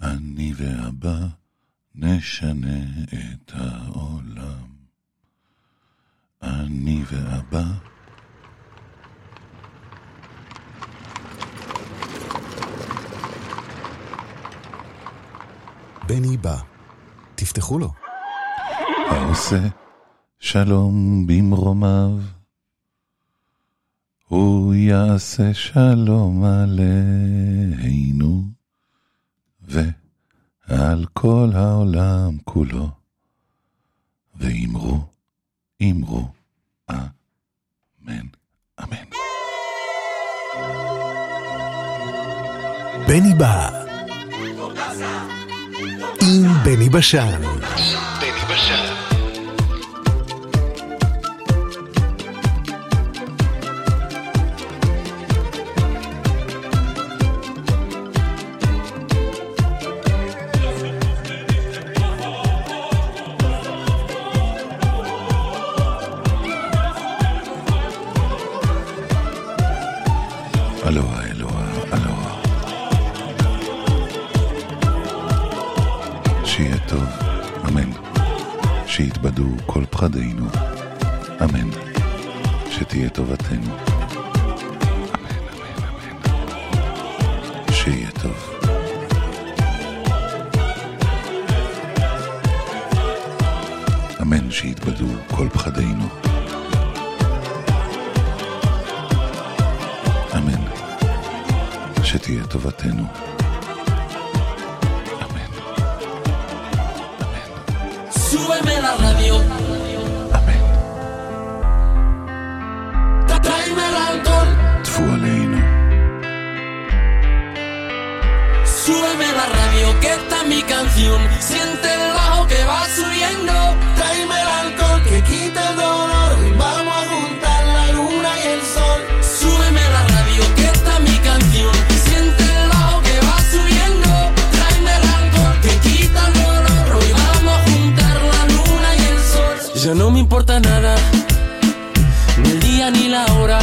אני ואבא נשנה את העולם. אני ואבא. בני בא, תפתחו לו. העושה שלום במרומיו, הוא יעשה שלום עלינו ועל כל העולם כולו, ואמרו, אמרו, אמן, אמן. בני בא עם בני בשן. בני בשן. אלוהה, אלוהה, אלוהה. שיהיה טוב, אמן. שיתבדו כל פחדינו, אמן. שתהיה טובתנו, אמן, אמן, אמן. שיהיה טוב. אמן, שיתבדו כל פחדינו, אמן. שתהיה טובתנו, אמן, אמן. Súbeme la radio, אמן. tráeme el alcohol. טפו עלינו, Súbeme la radio, que esta es mi canción. Siente el bajo que va subiendo. Tráeme el alcohol que quita el dolor. Y vamos a juntar la luna y el sol. Súbeme la radio, que esta es mi canción. Siente el bajo que va subiendo. Tráeme el alcohol que quita el dolor. Hoy vamos a juntar la luna y el sol. Ya no me importa nada, ni el día ni la hora.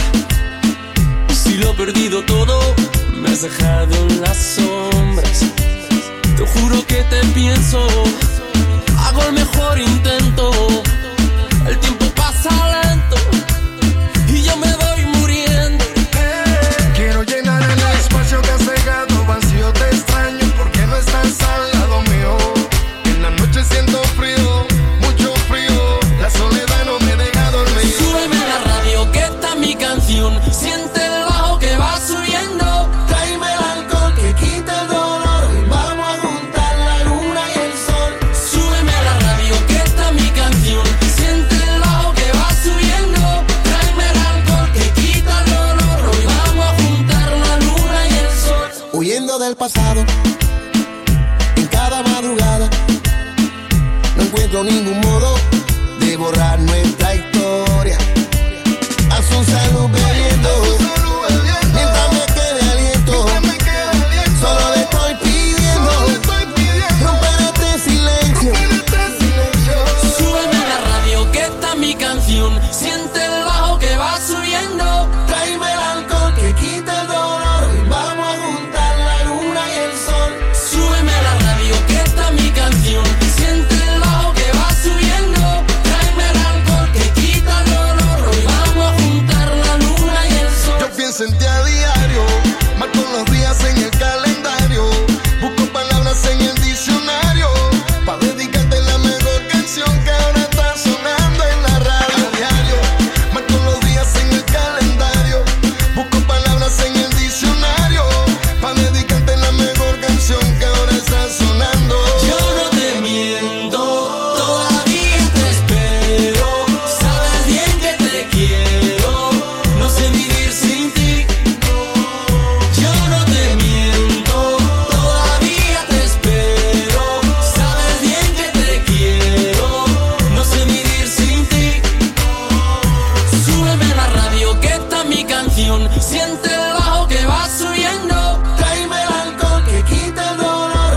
Si lo he perdido todo, me has dejado en las sombras. Te juro que te pienso, hago el mejor intento. El tiempo pasa lento y yo me voy muriendo. Quiero llenar el espacio que has dejado vacío. Te extraño porque no estás al lado mío. En la noche siento frío, mucho frío. La soledad no me deja dormir. Súbeme la radio, que esta es mi canción. Siente el bajo que va subiendo. Tráeme el alcohol que quita el dolor. Y vamos a juntar la luna y el sol. Súbeme la radio, que esta es mi canción. Siente el bajo que va subiendo. Tráeme el alcohol que quita el dolor. Hoy vamos a juntar la luna y el sol. Huyendo del pasado, en cada madrugada, no encuentro ningún modo de borrar nuestra historia. A su salud bebiendo, mientras me quede aliento, solo le estoy pidiendo romper este silencio. Súbeme la radio, que esta es mi canción. Siente el bajo que va subiendo. Tráeme el alcohol que quita el dolor. Y vamos a juntar la luna y el sol. Súbeme la radio, que esta es mi canción. Siente el bajo que va subiendo. Tráeme el alcohol que quita el dolor. Hoy vamos a juntar la luna y el sol. Yo pienso en ti a diario, marco los días en el calendario, busco palabras en el diccionario, pa' dedicarte la mejor canción que ahora está sonando en la radio. A diario, marco los días en el calendario, busco palabras en el diccionario, pa' dedicarte la mejor canción que ahora está sonando. Yo no te miento, todavía te espero. Sabes bien que te quiero, no sé vivir sin ti. Yo no te miento, todavía te espero. Sabes bien que te quiero, no sé vivir sin ti. Súbeme la radio, que esta es mi canción. Siente el bajo que va subiendo. Tráeme el alcohol que quita el dolor.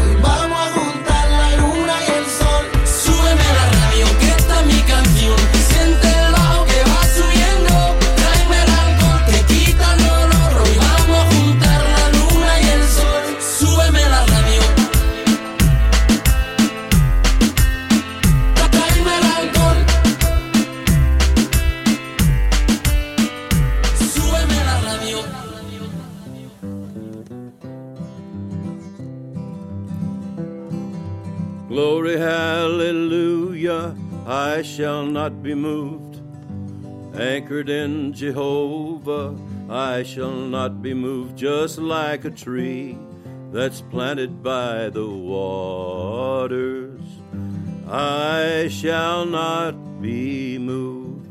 Glory, hallelujah, I shall not be moved. Anchored in Jehovah, I shall not be moved. Just like a tree that's planted by the waters, I shall not be moved.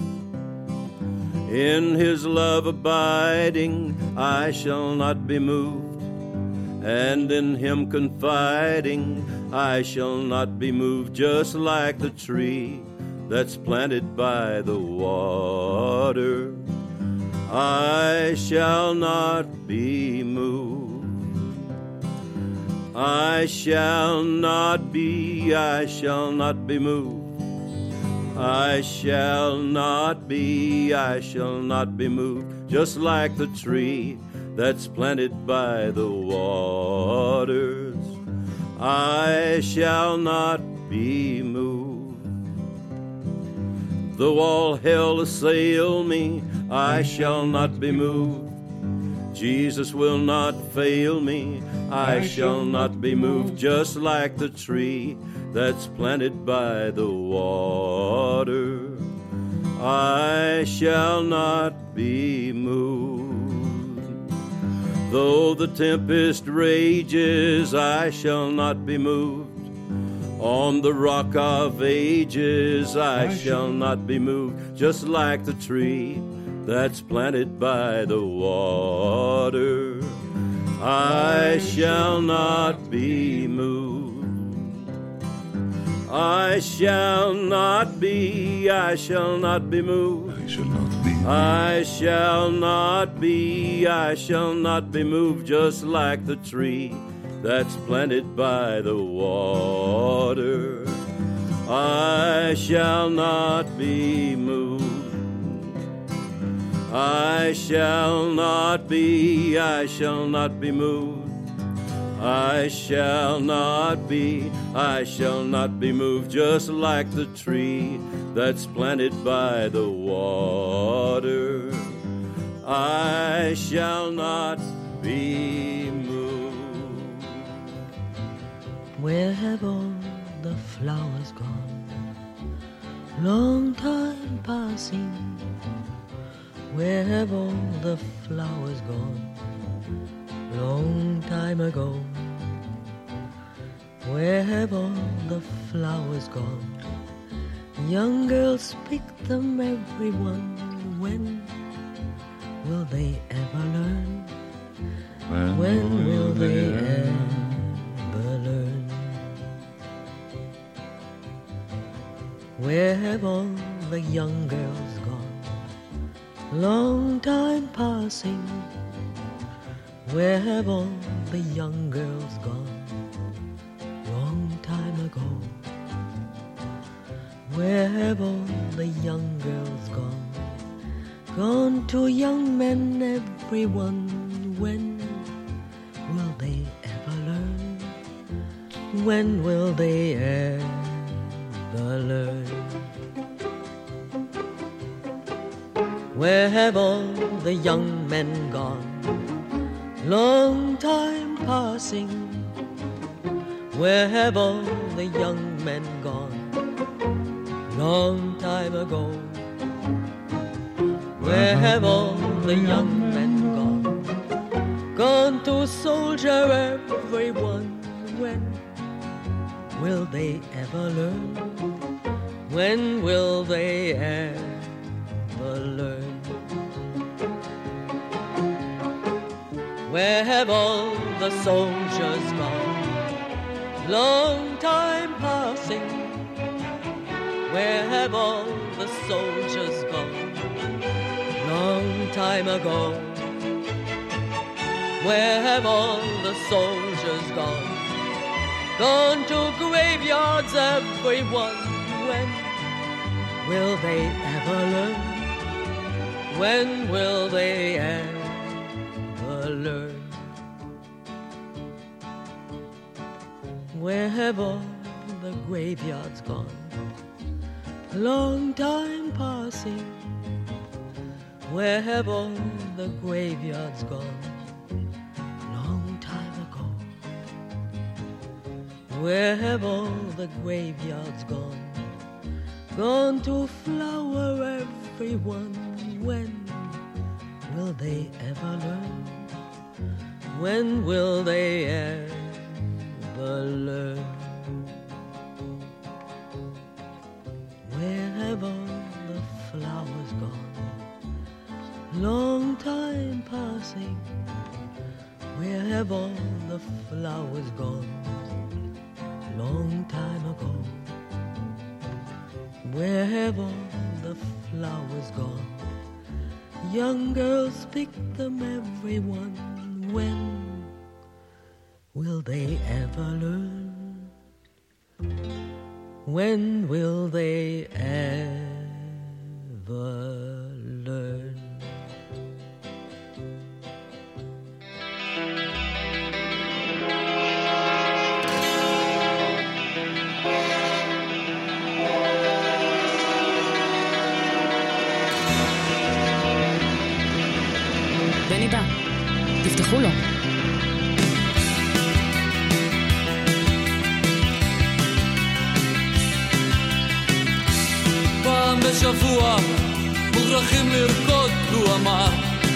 In his love abiding, I shall not be moved. And in him confiding, I shall not be moved. Just like the tree that's planted by the water, I shall not be moved. I shall not be moved. I shall not be moved. Just like the tree that's planted by the waters, I shall not be moved. Though all hell assail me, I shall not be moved. Jesus will not fail me, I shall not be moved. Just like the tree that's planted by the water, I shall not be moved. Though the tempest rages, I shall not be moved. On the rock of ages, I shall not be moved. Just like the tree that's planted by the water, I shall not be moved. I shall not be moved. I shall not be I shall not be moved. Just like the tree that's planted by the water, I shall not be moved. I shall not be moved. I shall not be moved. Just like the tree that's planted by the water, I shall not be moved. Where have all the flowers gone? Long time passing. Where have all the flowers gone? Long time ago. Where have all the flowers gone? Young girls pick them, everyone. When will they ever learn? When will they ever learn? Where have all the young girls gone? Long time passing. Where have all the young girls gone? Long time ago. Where have all the young girls gone? Gone to young men, everyone. When will they ever learn? When will they ever learn? Where have all the young men gone? Long time passing. Where have all the young men gone? Long time ago. Where have all the young men gone? Gone to soldier, everyone. When will they ever learn? When will they ever learn? Where have all the soldiers gone? Long time passing. Where have all the soldiers gone? Long time ago. Where have all the soldiers gone? Gone to graveyards, everyone. When will they ever learn? When will they ever learn? Where have all the graveyards gone? Long time passing. Where have all the graveyards gone? Long time ago. Where have all the graveyards gone? Gone to flower everyone. When will they ever learn? When will they ever learn? Where have all the flowers gone? Long time passing. Where have all the flowers gone? Long time ago. Where have all the flowers gone? Young girls pick them, everyone. When will they ever learn? When will they ever learn? בני בא, תפתחו לו. פעם בשבוע מוכרחים לרקוד, הוא אמר.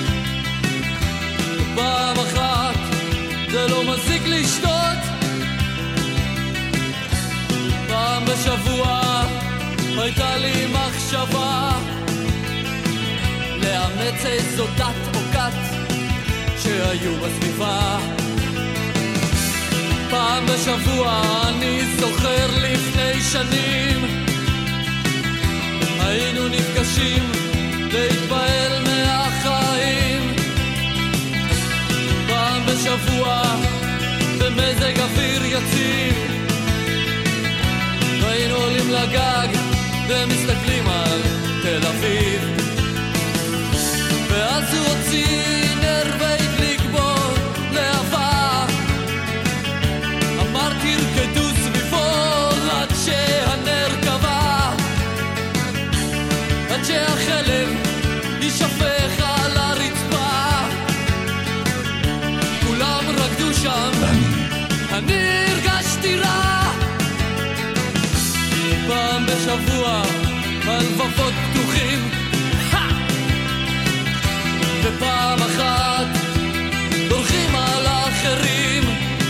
פעם אחת זה לא מזיק לשתות. פעם בשבוע הייתה לי מחשבה לאמץ איזו דת או כת שהיו בסביבה. פעם בשבוע אני זוכר לפני שנים היינו נפגשים להתפעל מהחיים. פעם בשבוע במזג אוויר יציב היינו עולים לגג ומסתכלים על תל אביב. ואז הוא הוציא נר והדליק בו להבה. אמרתי רקדו סביבו עד שהנר קבע, עד שהחלב יישפך על הרצפה. כולם רקדו שם, אני הרגשתי רע. פעם בשבוע הלבבות פתוחים, ופעם אחת דורכים על האחרים.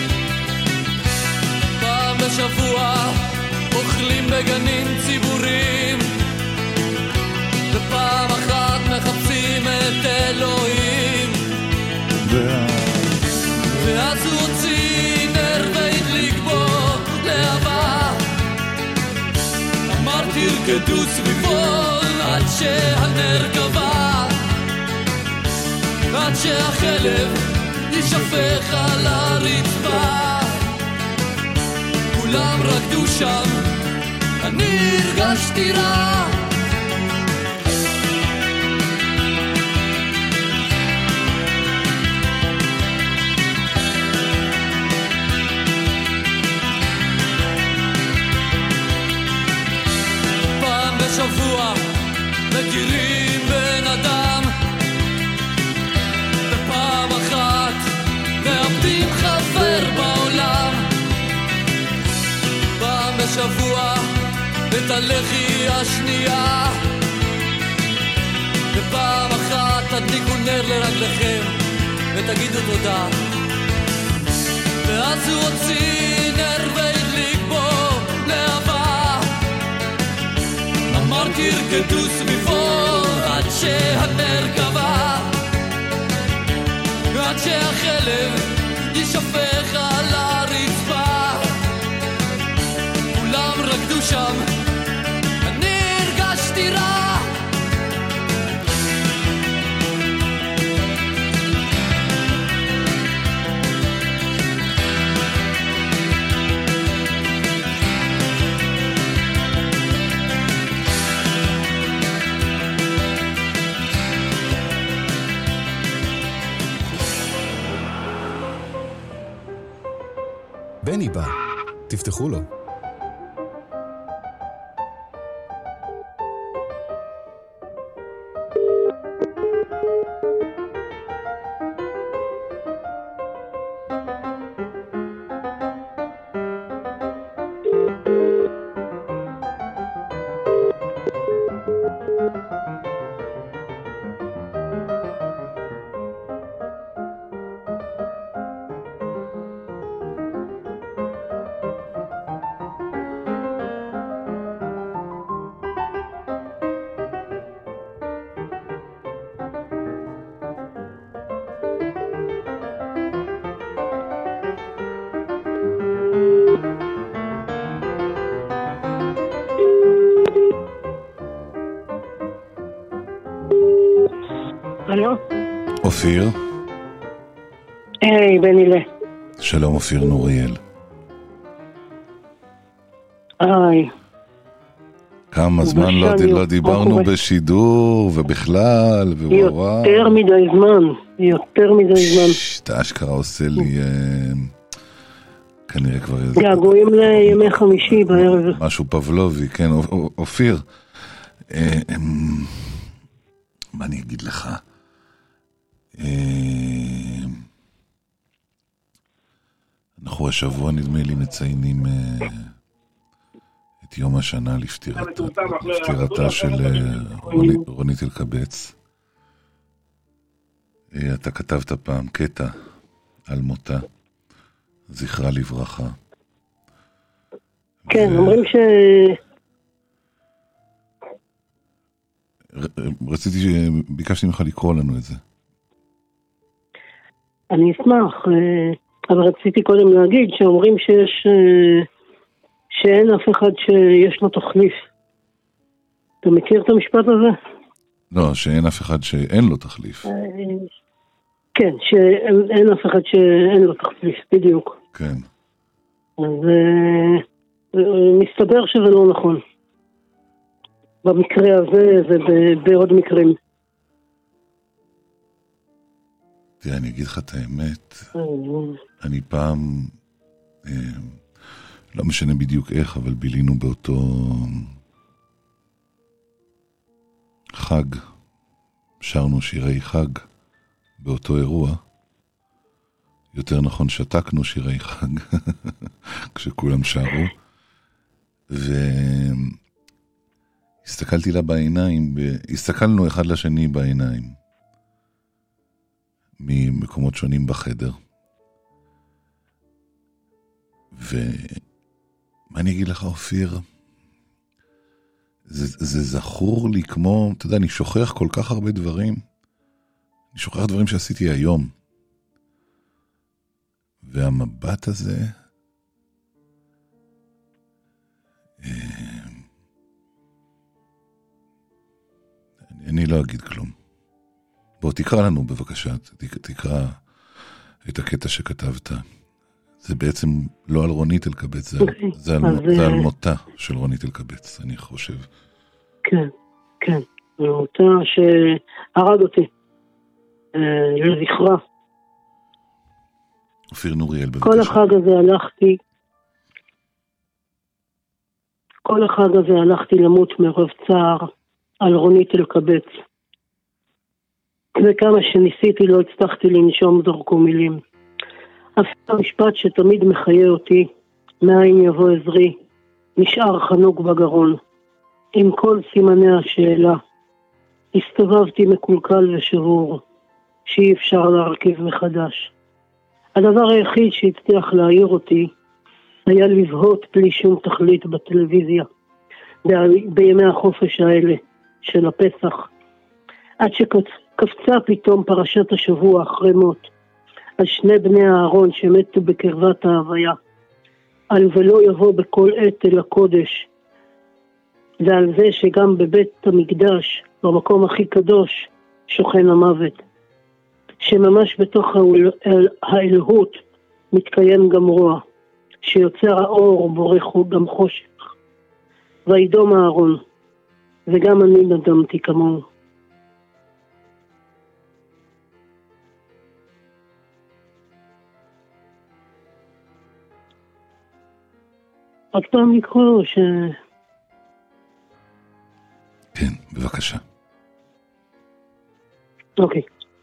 פעם בשבוע אוכלים בגנים ציבוריים, ופעם אחת מחפשים את אלוהים. ואז הוא הוציא נר והדליק בו להבה. אמרתי רקדו סביבו עד שהנר קבע, עד שהחלב יישפך על הרצפה. כולם רקדו שם, אני הרגשתי רע. פעם בשבוע מכירים בן אדם, ופעם אחת מאבדים חבר בעולם. פעם בשבוע את הלחי השנייה, ופעם אחת תדליקו נר לרגליכם ותגידו תודה. ואז הוא הוציא נר והדליק בו להבה. אמרתי רקדו סביבו עד שהנר קבע, עד שהחלב יישפך על הרצפה. כולם רקדו שם, אני הרגשתי רע. בני בא, תפתחו לו. אופיר? היי, בנילה. שלום אופיר נוריאל. היי. כמה זמן לא דיברנו בשידור ובכלל ובוואו. יותר מדי זמן. אתה אשכרה עושה לי כנראה כבר איזה... געגועים לימי חמישי בערב. משהו פבלובי, כן. אופיר, מה אני אגיד לך? אנחנו השבוע נדמה לי מציינים את יום השנה לפטירתה של רונית אלקבץ. אתה כתבת פעם קטע על מותה, זכרה לברכה. כן, אומרים ש... ביקשתי ממך לקרוא לנו את זה. אני אשמח, אבל רציתי קודם להגיד שאומרים שאין אף אחד שיש לו תחליף. אתה מכיר את המשפט הזה? לא, שאין אף אחד שאין לו תחליף. כן, שאין אף אחד שאין לו תחליף, בדיוק. כן. אז מסתבר שזה לא נכון. במקרה הזה ובעוד מקרים. תראה, אני אגיד לך את האמת, אני פעם, לא משנה בדיוק איך, אבל בילינו באותו חג, שרנו שירי חג באותו אירוע, יותר נכון שתקנו שירי חג, כשכולם שרו, הסתכלתי לה בעיניים, הסתכלנו אחד לשני בעיניים, ממקומות שונים בחדר. ומה אני אגיד לך אופיר? זה זכור לי כמו, אתה יודע, אני שוכח כל כך הרבה דברים. אני שוכח דברים שעשיתי היום. והמבט הזה, אני לא אגיד כלום. בוא תקרא לנו בבקשה, תקרא את הקטע שכתבת. זה בעצם לא על רונית אלקבץ, זה על מותה של רונית אלקבץ, אני חושב. כן, כן, על מותה שהרג אותי, לזכרה. אופיר נוריאל בבקשה. כל החג הזה הלכתי למות מרוב צער על רונית אלקבץ. וכמה שניסיתי לא הצלחתי לנשום דרכו מילים. אף המשפט שתמיד מחיה אותי, מאין יבוא עזרי, נשאר חנוק בגרון. עם כל סימני השאלה, הסתובבתי מקולקל ושבור, שאי אפשר להרכיב מחדש. הדבר היחיד שהצליח להעיר אותי, היה לבהות בלי שום תכלית בטלוויזיה, בימי החופש האלה של הפסח, עד שקפצה פתאום פרשת השבוע אחרי מות, על שני בני הארון שמתו בקרבת ההוויה, על ולא יבוא בכל עת אל הקודש, ועל זה שגם בבית המקדש, במקום הכי קדוש, שוכן המוות, שממש בתוך האלוהות מתקיים גם רוע, שיוצר האור בורח גם חושך, וידום הארון, וגם אני נדמתי כמוהו. עוד פעם לקרוא כן, בבקשה. אוקיי.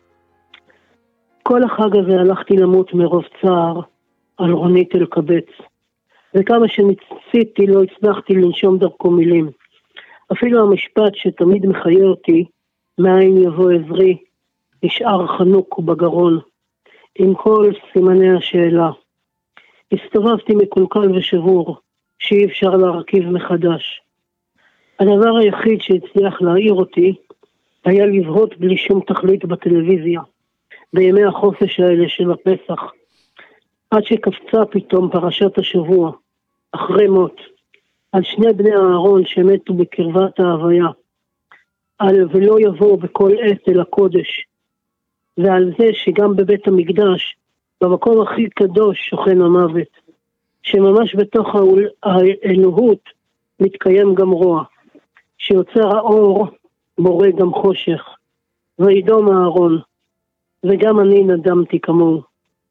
כל החג הזה הלכתי למות מרוב צער על רונית אלקבץ, וכמה שניסיתי לא הצלחתי לנשום דרכו מילים. אפילו המשפט שתמיד מחיה אותי, מאין יבוא עזרי, נשאר חנוק בגרון, עם כל סימני השאלה. הסתובבתי מקולקל ושבור, שאי אפשר להרכיב מחדש. הדבר היחיד שהצליח להעיר אותי, היה לבהות בלי שום תכלית בטלוויזיה, בימי החופש האלה של הפסח, עד שקפצה פתאום פרשת השבוע, אחרי מות, על שני בני הארון שמתו בקרבת ההוויה, על ולא יבוא בכל עת אל הקודש, ועל זה שגם בבית המקדש, במקום הכי קדוש שוכן המוות, שממש בתוך האלוהות מתקיים גם רוע, שיוצר האור בורא גם חושך, וידום אהרון, וגם אני נדמתי כמוהו.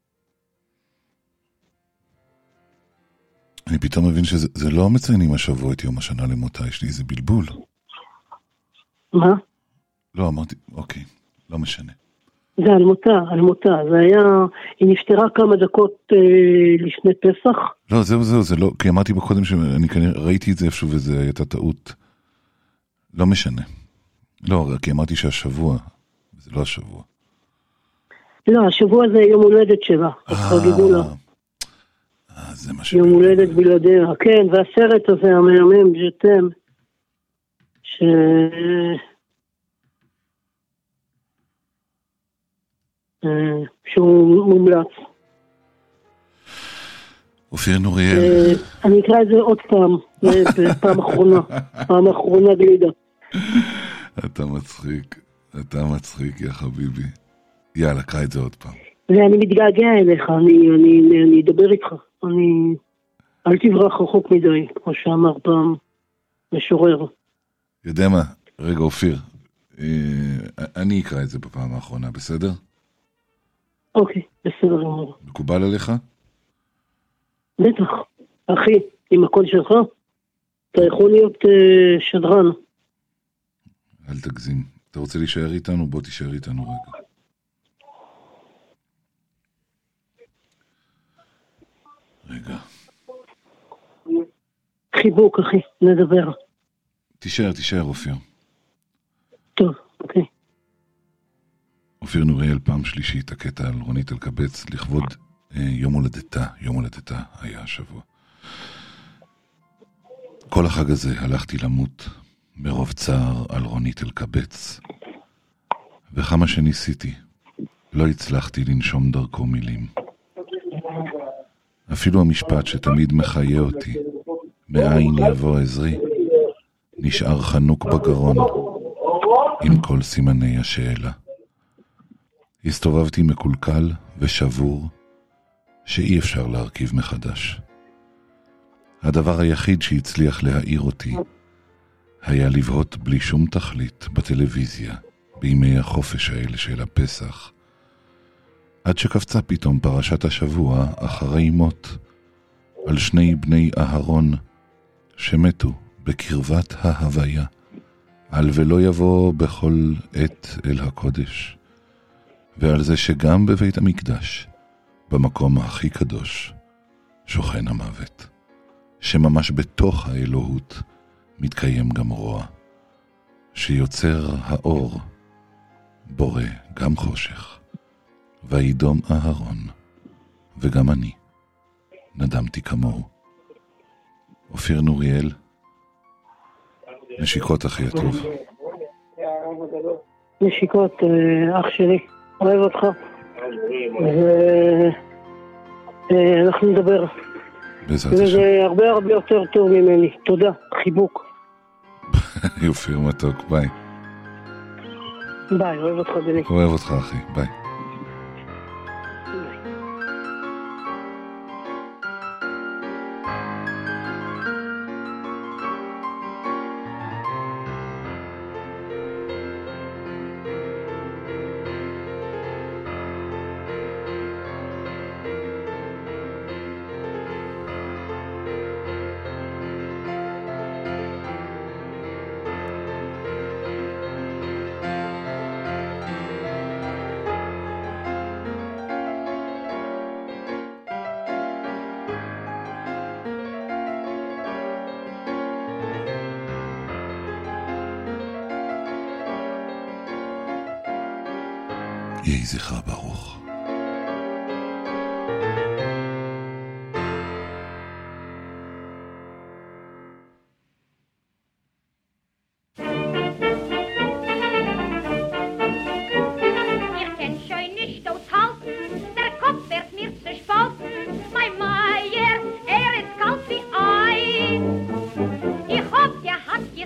אני פתאום מבין שזה לא מציינים השבוע את יום השנה למותה, יש לי איזה בלבול. מה? לא, אמרתי, אוקיי, לא משנה. זה על מותה, זה היה, היא נפטרה כמה דקות לפני פסח. לא, זהו, זה לא, כי אמרתי בקודם שאני כנראה ראיתי את זה איפשהו וזה הייתה טעות. לא משנה. לא, כי אמרתי שהשבוע, זה לא השבוע. לא, השבוע זה יום הולדת שלה, אז חגגו לה. זה מה יום הולדת בלעדיה, כן, והסרט הזה המהמם, ז'תם, שהוא מומלץ. אופיר נוריאל. אני אקרא את זה עוד פעם, פעם אחרונה גלידה. אתה מצחיק, יא חביבי. יאללה, קרא את זה עוד פעם. ואני מתגעגע אליך, אני אדבר איתך. אל תברח רחוק מדי, כמו שאמר פעם משורר. יודע מה? רגע, אופיר. אני אקרא את זה בפעם האחרונה, בסדר? אוקיי, בסדר גמור. מקובל עליך? בטח. אחי, עם הקול שלך, אתה יכול להיות שדרן. אל תגזים. אתה רוצה להישאר איתנו? בוא תישאר איתנו רגע. רגע. חיבוק, אחי, נדבר. תישאר, אופיר. טוב, אוקיי. אופיר נוריאל, פעם שלישית, הקטע על רונית אלקבץ, לכבוד יום הולדתה היה השבוע. כל החג הזה הלכתי למות מרוב צער על רונית אלקבץ, וכמה שניסיתי, לא הצלחתי לנשום דרכו מילים. אפילו המשפט שתמיד מחיה אותי, מאין יבוא עזרי, נשאר חנוק בגרון, עם כל סימני השאלה. הסתובבתי מקולקל ושבור, שאי אפשר להרכיב מחדש. הדבר היחיד שהצליח להעיר אותי, היה לבהות בלי שום תכלית בטלוויזיה, בימי החופש האלה של הפסח, עד שקפצה פתאום פרשת השבוע אחרי מות, על שני בני אהרון שמתו בקרבת ההוויה, על ולא יבוא בכל עת אל הקודש, ועל זה שגם בבית המקדש, במקום הכי קדוש, שוכן המוות, שממש בתוך האלוהות מתקיים גם רוע, שיוצר האור, בורא גם חושך, וידום אהרון, וגם אני נדמתי כמוהו. אופיר נוריאל, נשיקות אחי הטוב. נשיקות אח שלי, אוהב אותך. אנחנו נדבר. וזה הרבה הרבה יותר טוב ממני. תודה, חיבוק. אופיר מתוק, ביי. ביי, אוהב אותך בני. אוהב אותך אחי, ביי. יהי זכרה ברוך.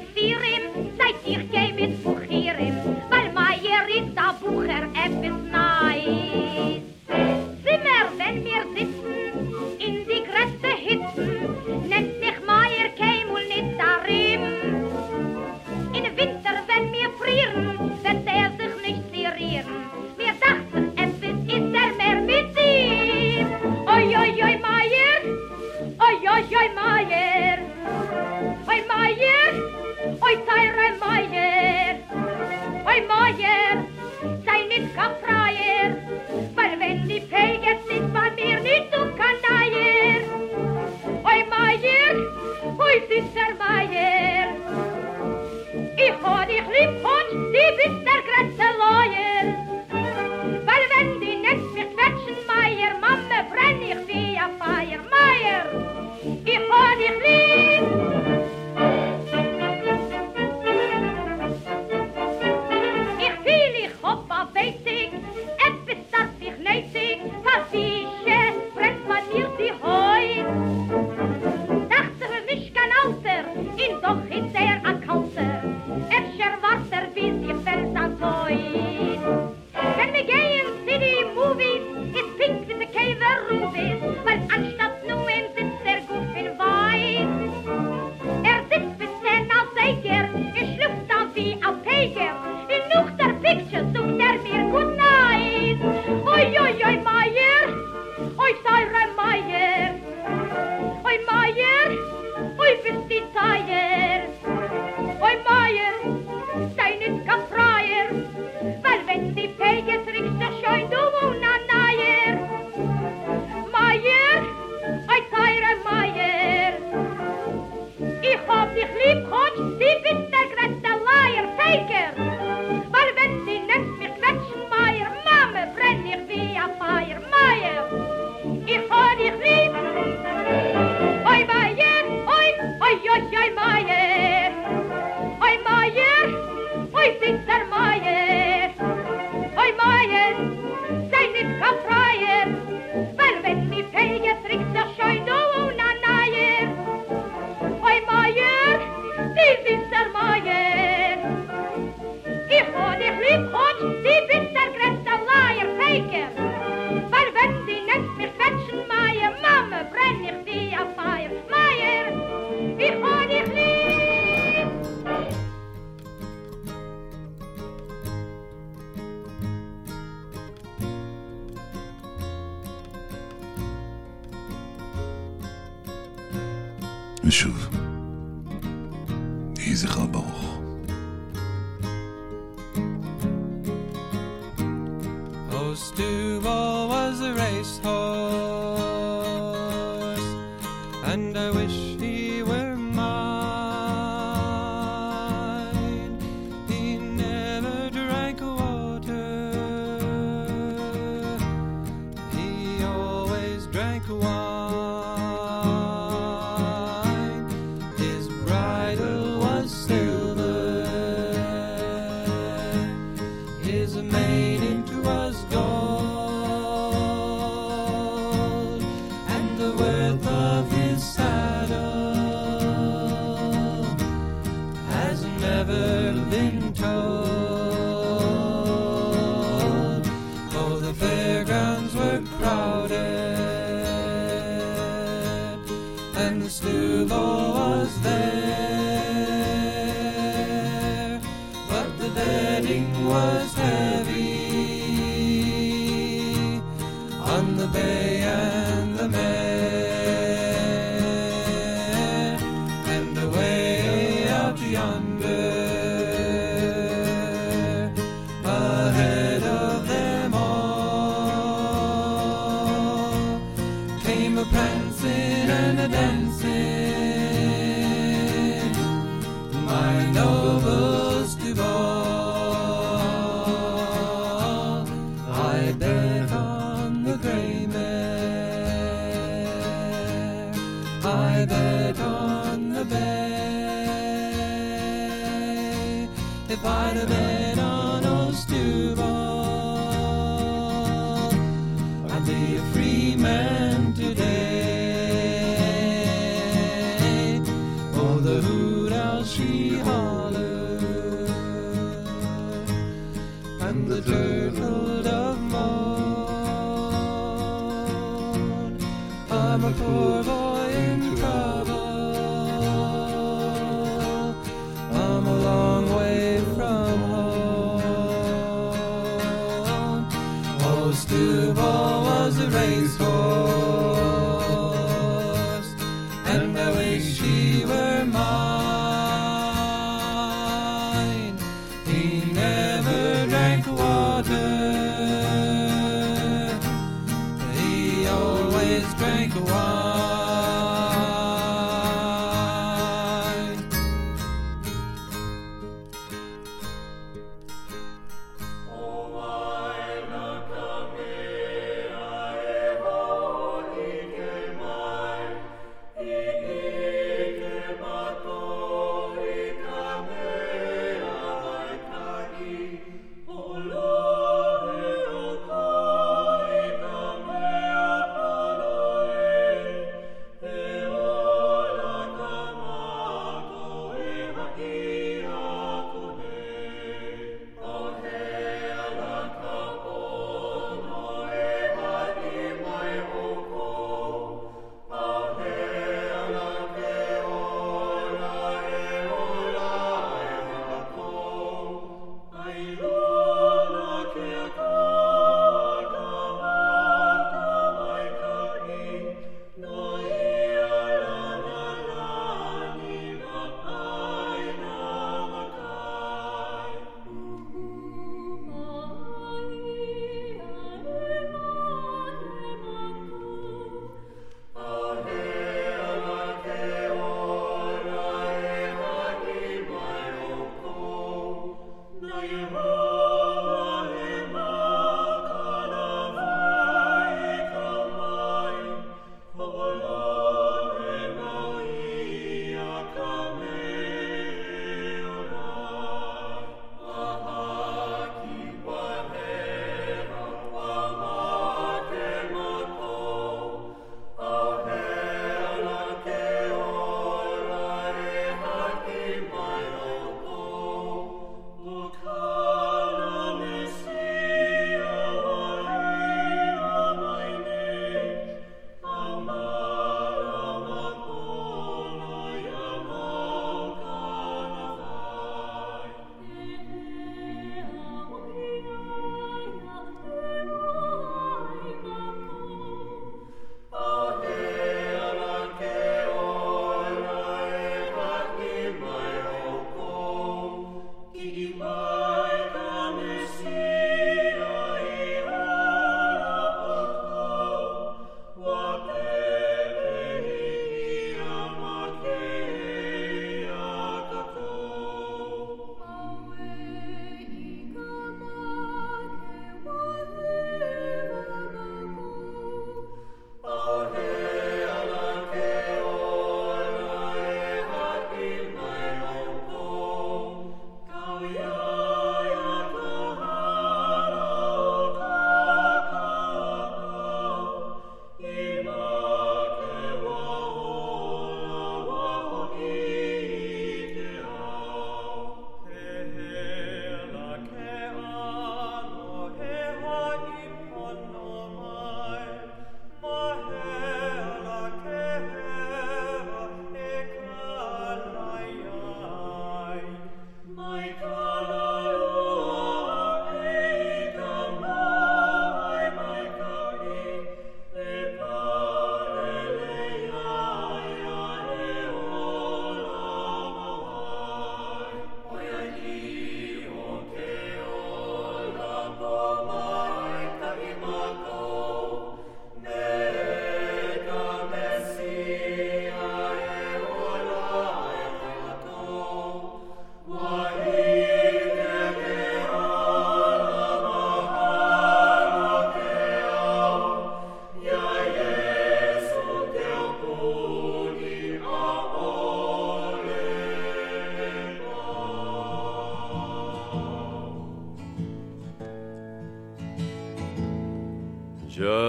Weil Meier ist der Bucher, etwas nah. Meier, oi teure Meier, oi Meier, sei nicht Kapfreier, weil wenn die Pege sind bei mir nicht du Kanaier. Oi Meier, oi süßer Meier, ich hab dich lieb und die bist der größte Lawyer. Weil wenn die nennt mich quetschen Meier, Mama brenn ich wie ein Feier. Meier, ich hab dich lieb. Ich fühl, ich hopp auf Weizig, etwas darf ich nötig, Kaffeesche brennt man mir die Heu. Dachte nicht kein Alter, ihn doch ist ein Kalter, Warter wie sich fällt an Toi. Wenn wir gehen zu die Movies, ist pink wie die Käfer Rubies, weil anstatt nur sitzt gut in Weiß. Sitzt bis 10 als Eiger, schluckt dann wie ein Peger, in noch der Picture sucht mir good night. Oi, oi, oi, Meier, oi, teure Meier, oi, Meier, oi, bist die Teier, oi, Meier, sei nicht Kapfreier, weil wenn die Pege trickst, so schein du una Neier. Meier, oi teure Meier, ich hab dich lieb, Gott, die bist der größte Leier, Peger, weil wenn sie nennt mich quetschen, Meier, Mama, brenn ich wie ein Feier. Meier, ich hab dich lieb, oi Meier, oi, oi, oi, oi, Meier, oi Meier, oi süßer Meier, oi Meier, sei nicht Kapfreier, weil wenn die Pege trickst, so schein du una Neier. Oi Meier, die süßer Meier, ich hab dich lieb und die bist der größte Leier, Peger, weil wenn die nennt mich quetschen, Meier, Mama, brenn ich wie ein Feier. Meier, ich hab dich lieb. ושוב, יהי זכרה ברוך. Oh, Stubble was a racehorse, and I wish he were mine. He never drank water, he always drank wine. His bridle was silver, his mane was gold, and the worth of his saddle has never been told. Oh, the fairgrounds were crowded, and the Stubble was there, but the betting was heavy on the bay and the mare, and away out yonder, ahead of them all, came a prancing and a dancing, my noble Stubble. I bet on the grey mare, I bet on the bay. If I'd have bet on old Stubble, I'd be a free man today. Oh, the hoot owl she hollered, and the turtle dove moaned. I'm a poor boy in trouble, I'm a long way from home. Oh, Stubble was a racehorse, and I wish she were mine.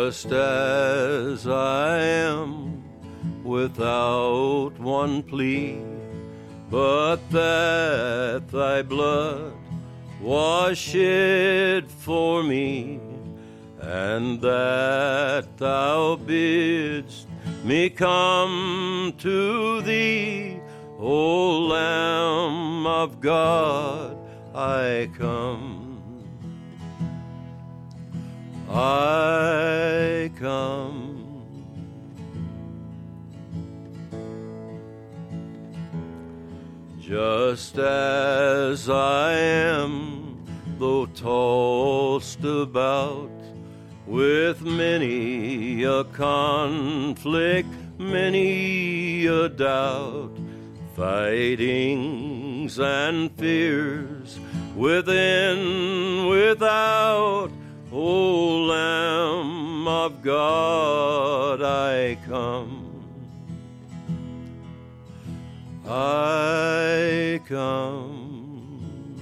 just as I am, without one plea, but that thy blood was shed for me, and that thou bidst me come to thee, O Lamb of God, I come. I come. Just as I am, though tossed about with many a conflict, many a doubt, fightings and fears within, without, O Lamb of God, I come. I come.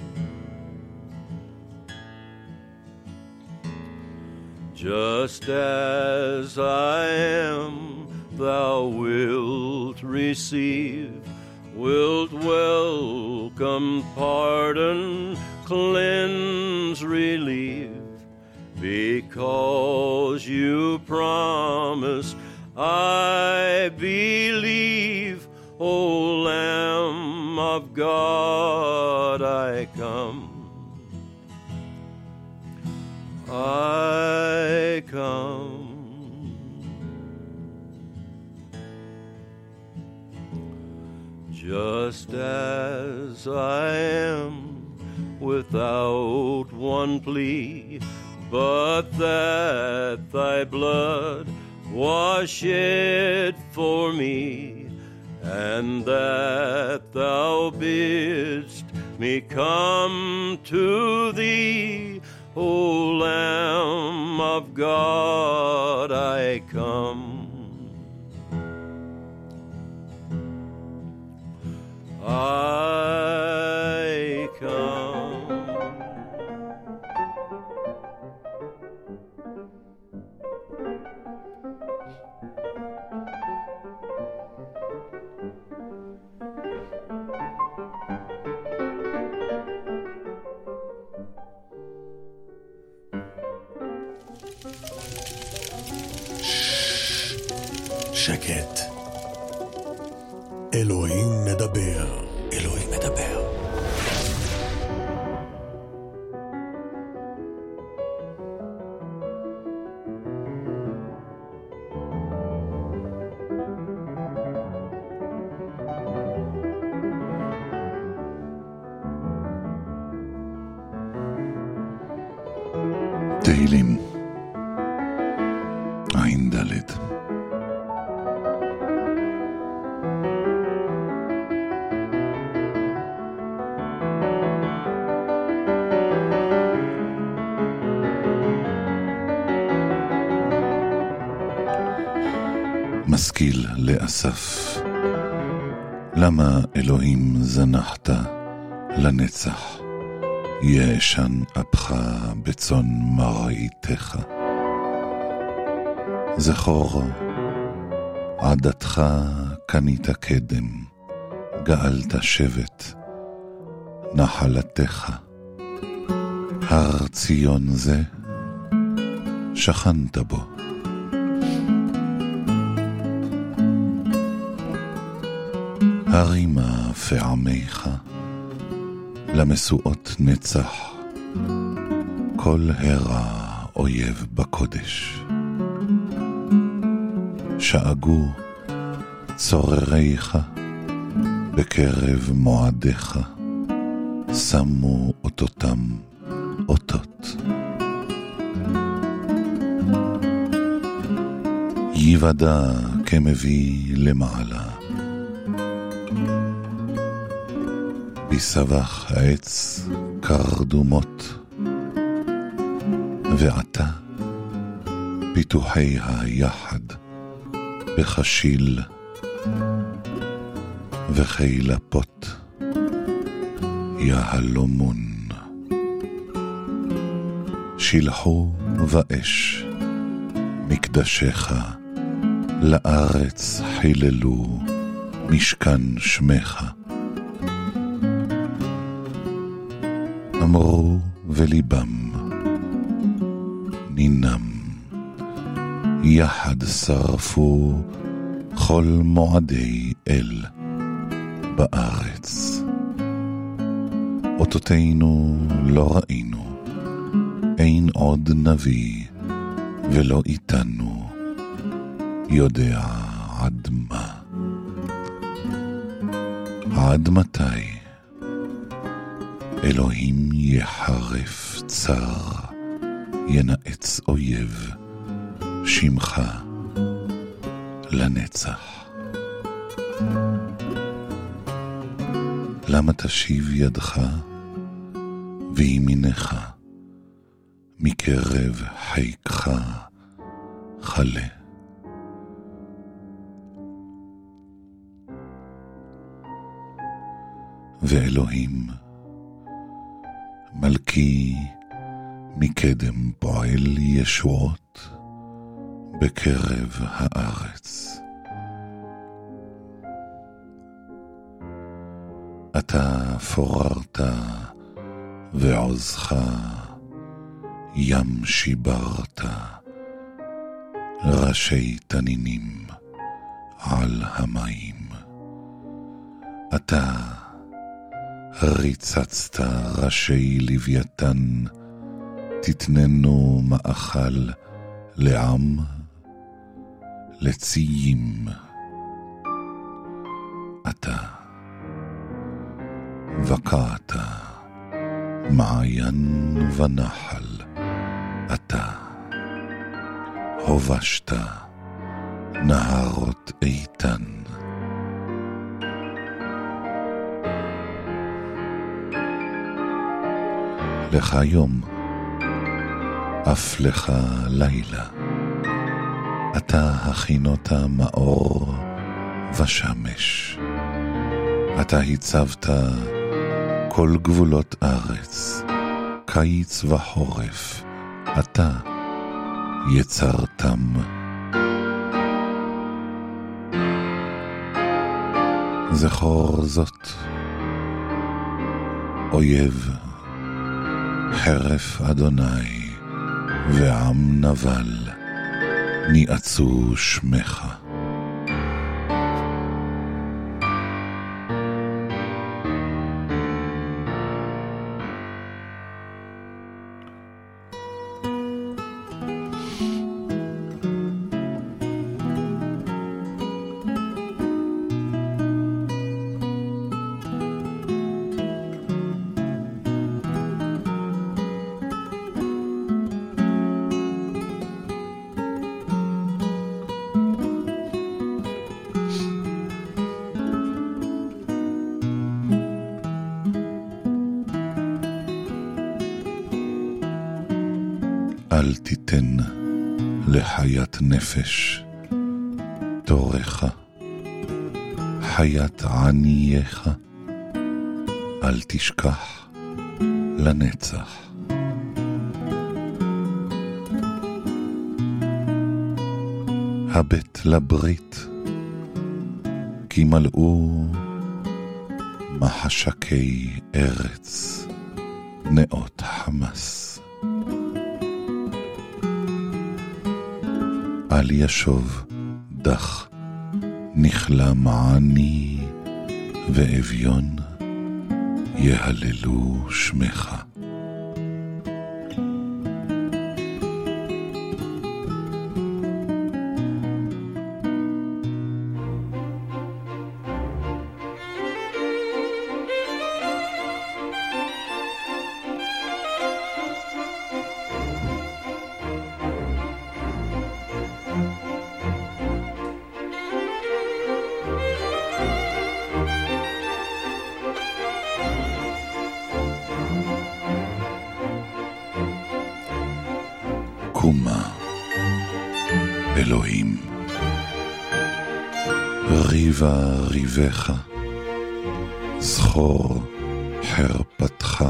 Just as I am, thou wilt receive, wilt welcome, pardon, cleanse, relieve, because you promised, I believe, O Lamb of God, I come. I come. Just as I am, without one plea, but that thy blood was shed for me, and that thou bidst me come to thee, O Lamb of God, I come. I come. שקט. אלוהים מדבר. אלוהים מדבר. תהילים עין ד'. משכיל לאסף, למה אלוהים זנחת לנצח, ישן אפך בצאן מרעיתך. זכור עדתך קנית קדם, גאלת שבט נחלתך. הר ציון זה שכנת בו, הרימה פעמיך למסועות נצח, כל הרע אויב בקודש. שאגו צורריך בקרב מועדיך, שמו אותותם אותות. יוודע כמביא למעלה, בסבך העץ קרדומות, ועתה פיתוחי היחד בחשיל וחילפות יהלומון. שילחו ואש מקדשך לארץ חיללו משכן שמך. אמרו וליבם נינם, יחד שרפו כל מועדי אל בארץ. אותותינו לא ראינו, אין עוד נביא ולא איתנו יודע עד מה. עד מתי אלוהים יחרף צר, ינעץ אויב שמך לנצח. למה תשיב ידך וימינך מקרב חיקך חלה. ואלוהים מלכי מקדם פועל ישועות בקרב הארץ. אתה פוררת ועוזך ים שיברת, ראשי תנינים על המים. אתה ריצצת ראשי לוויתן, תתננו מאכל לעם לציים. אתה וקעת מעיין ונחל, אתה הובשת נהרות איתן. לך יום, אף לך לילה, אתה הכינות מאור ושמש. אתה הצבת כל גבולות ארץ, קיץ וחורף, אתה יצרתם. זכור זאת, אויב חרף אדוני ועם נבל ניעצו שמך. אל תיתן לחיית נפש תורך, חיית ענייך אל תשכח לנצח. הבט לברית, כי מלאו מחשקי ארץ נאות חמס. אל ישוב דח נכלה מעני, ואביון יהללו שמך. קומה אלוהים, ריבה ריבך, זכור חרפתך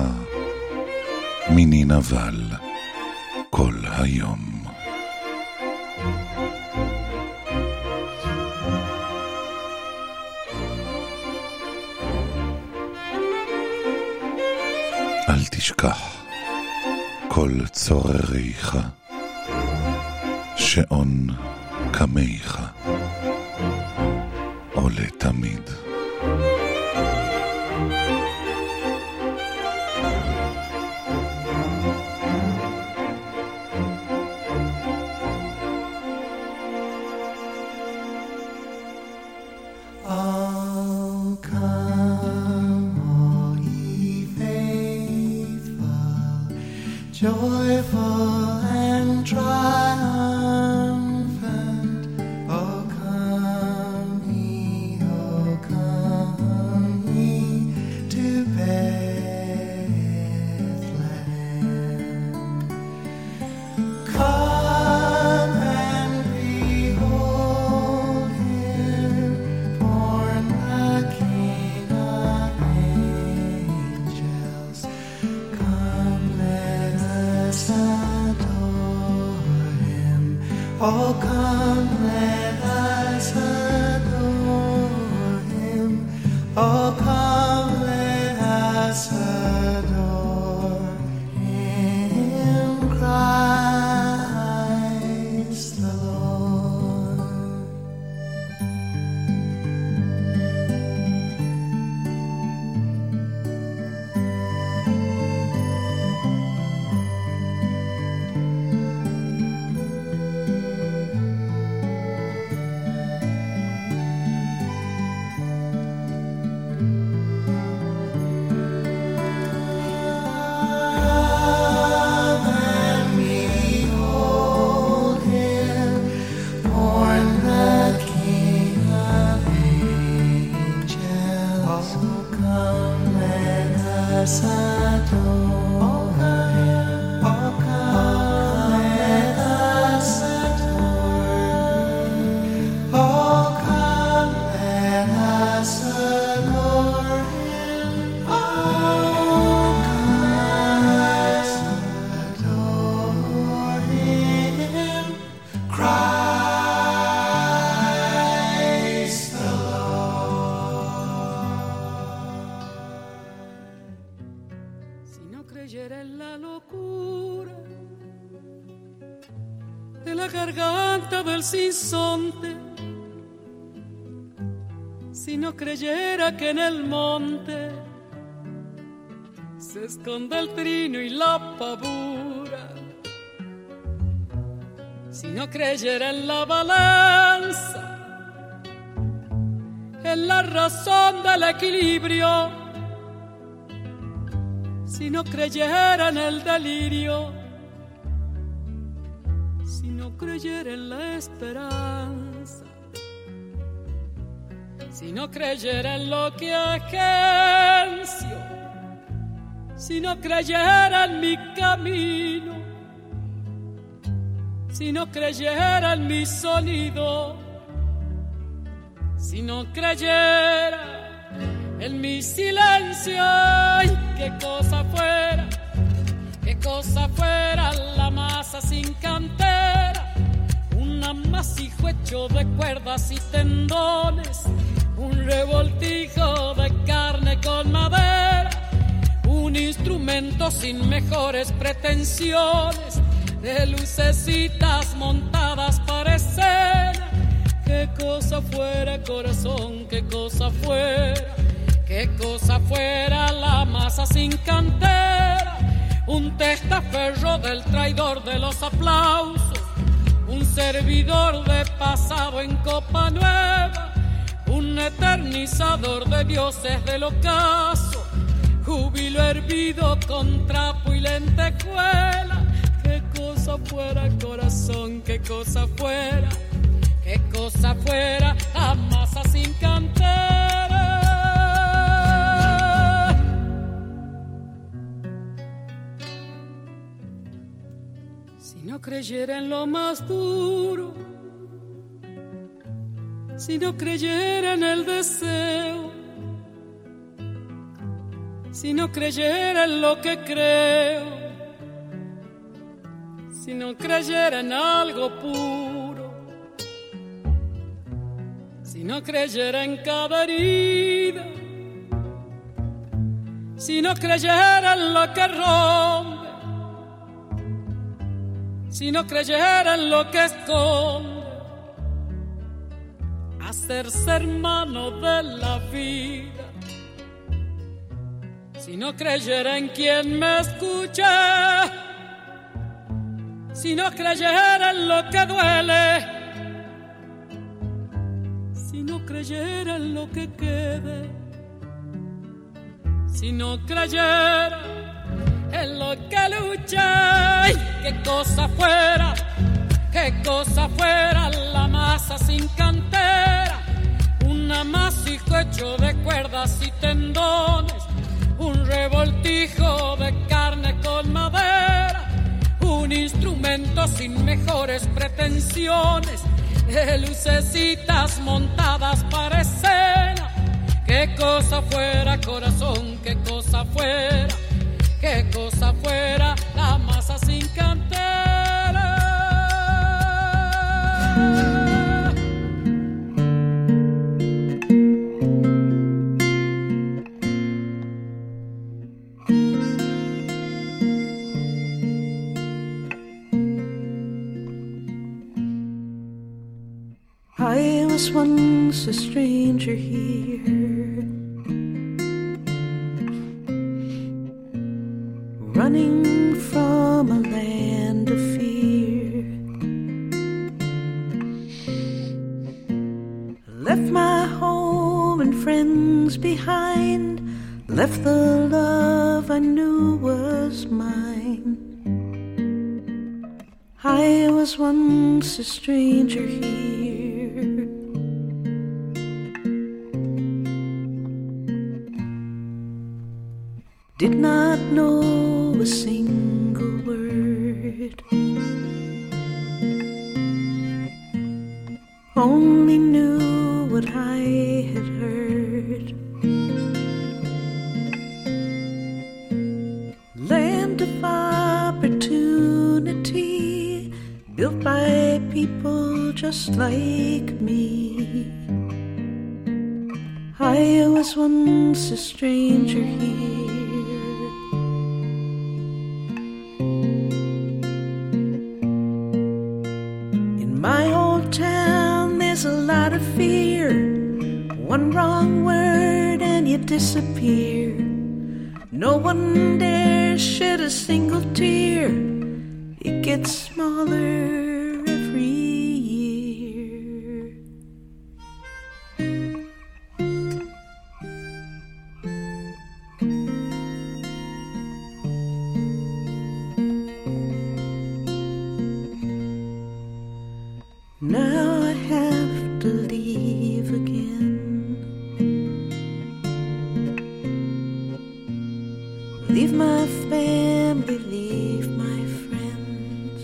מיני נבל כל היום. אל תשכח כל צורריך, שעון קמיך עולה תמיד. Joyful and triumphant, oh come ye to Bethlehem. Come and behold him, born the King of angels. Come, let us adore him. Oh, come, let us adore him. Oh, come, let us adore him, Christ the Lord. Come and behold him, born the King of angels. Oh, come, let us adore him. Oh, come, let us adore him. Oh, come, let us adore him. Oh, come, let us adore him, Christ the Lord. Si no creyera en la locura de la garganta del sinsonte, si no creyera que en el monte se esconde el trino y la pavura, si no creyera en la balanza, en la razón del equilibrio, si no creyera en el delirio, si no creyera en la esperanza, si no creyera en lo que agencio, si no creyera en mi camino, si no creyera en mi sonido, si no creyera en mi silencio, ay, qué cosa fuera la masa sin cantera, un amasijo hecho de cuerdas y tendones, un revoltijo de carne con madera, un instrumento sin mejores pretensiones, de lucecitas montadas para escena. Qué cosa fuera, corazón, qué cosa fuera la masa sin cantera, un testaferro del traidor de los aplausos, un servidor de pasado en copa nueva, un eternizador de dioses del ocaso, júbilo hervido con trapo y lentejuela. Qué cosa fuera, corazón, qué cosa fuera la masa sin cantera. Si no creyera en lo más duro, si no creyera en el deseo, si no creyera en lo que creo, si no creyera en algo puro, si no creyera en cada herida, si no creyera en lo que rompe, si no creyera en lo que esconde, hacerse hermano de la vida, si no creyera en quien me escuche, si no creyera en lo que duele, si no creyera en lo que quede, si no creyera en lo que luché, qué cosa fuera la masa sin cantera, un amasijo hecho de cuerdas y tendones, un revoltijo de carne con madera, un instrumento sin mejores pretensiones, de lucecitas montadas para escena. Qué cosa fuera, corazón, qué cosa fuera la masa sin cantera. I was once a stranger here, running from a land of fear. Left my home and friends behind, left the love I knew was mine. I was once a stranger here, did not know a single word, only knew what I had heard. Land of opportunity, built by people just like me. I was once a stranger here, in my old town there's a lot of fear, one wrong word and you disappear. No one dares shed a single tear, it gets smaller every year. Now I have to leave again, leave my family, leave my friends.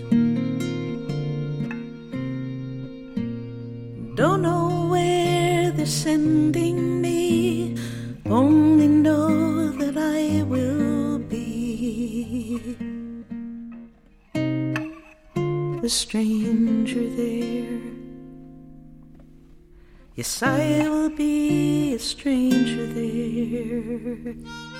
Don't know where they're sending me, only know that I will be a stranger there. Yes, I will be a stranger there.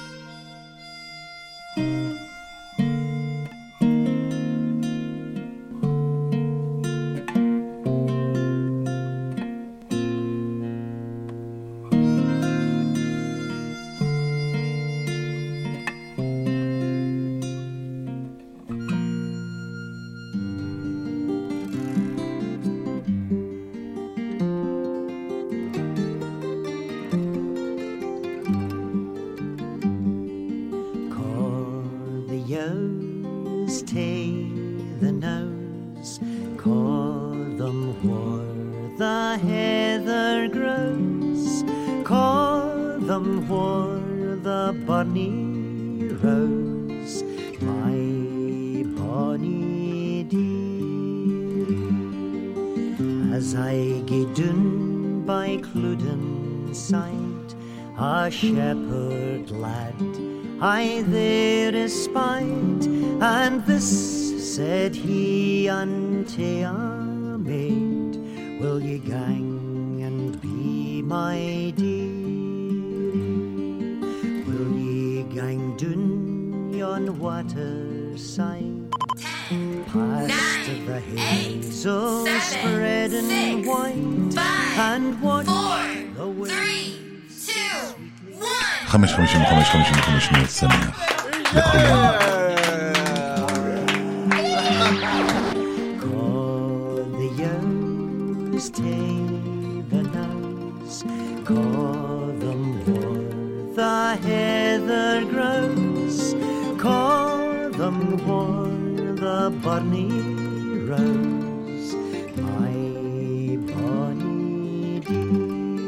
Shepherd lad, I there espied, and this said he unto a maid, will ye gang and be my dear? Will ye gang and white and watch the way. 5:55 שניות שמח לכולם. Call the youngs, take the nose, call them where the heather grows, call them where the barney rose, my bonny dear.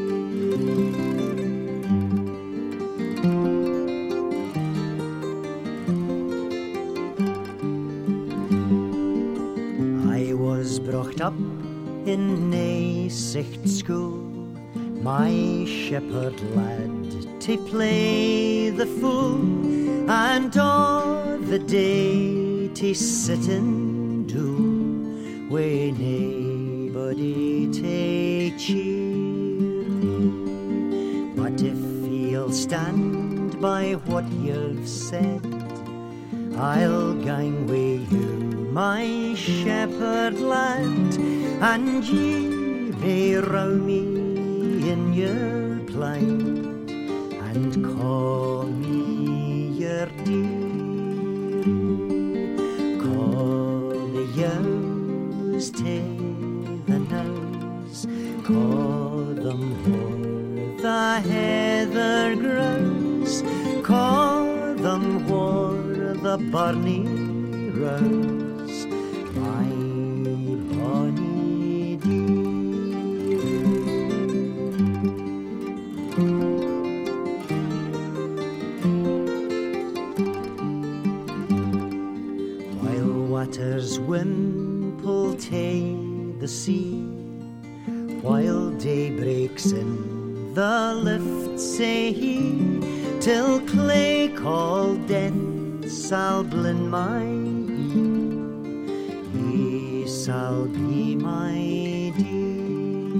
I was brought up in Naesicht school, my shepherd lad to play the fool, and all the day to sit and do, when nobody take cheer me. But if you'll stand by what you've said, I'll gang with you, my shepherd lad, and ye may row me in your plaid and call me your dear. Call the yows, take the nose, call them where the heather grows, call them where the barney rose, my bonny dear. While waters wimple ta'e the sea, while day breaks in the lift, say he, till clay called death shall blend my ear, ye shall be my dear.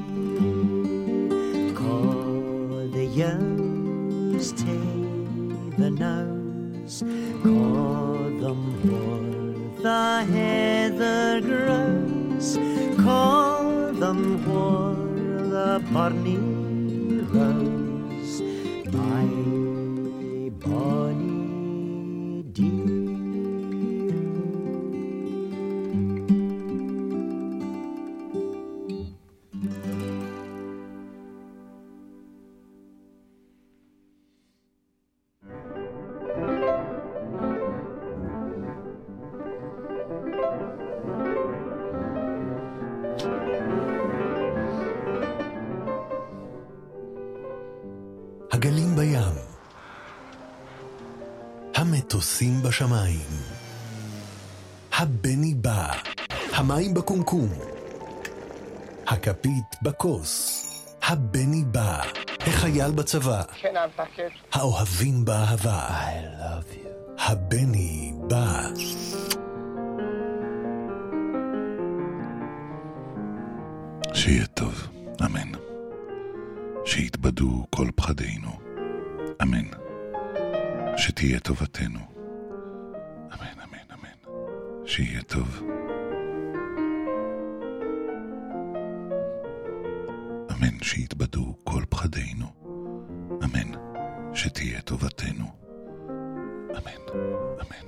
Call the yows, take the nose, call them where the heather grows, call them where the barney rose, my bonny dear. הגלים בים, המטוסים בשמיים, הבני בא, המים בקומקום, הכפית בכוס, הבני בא, החייל בצבא, האוהבים באהבה, I love you, הבני בא. שיהיה טוב, אמן. שיתבדו כל פחדינו, אמן. שתהיה טובתנו, אמן, אמן, אמן. שיהיה טוב, אמן. שיתבדו כל פחדינו, אמן. שתהיה טובתנו, אמן, אמן.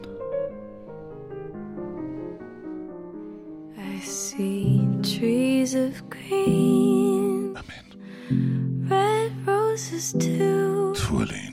I see trees of green, red roses too. טפו עלינו.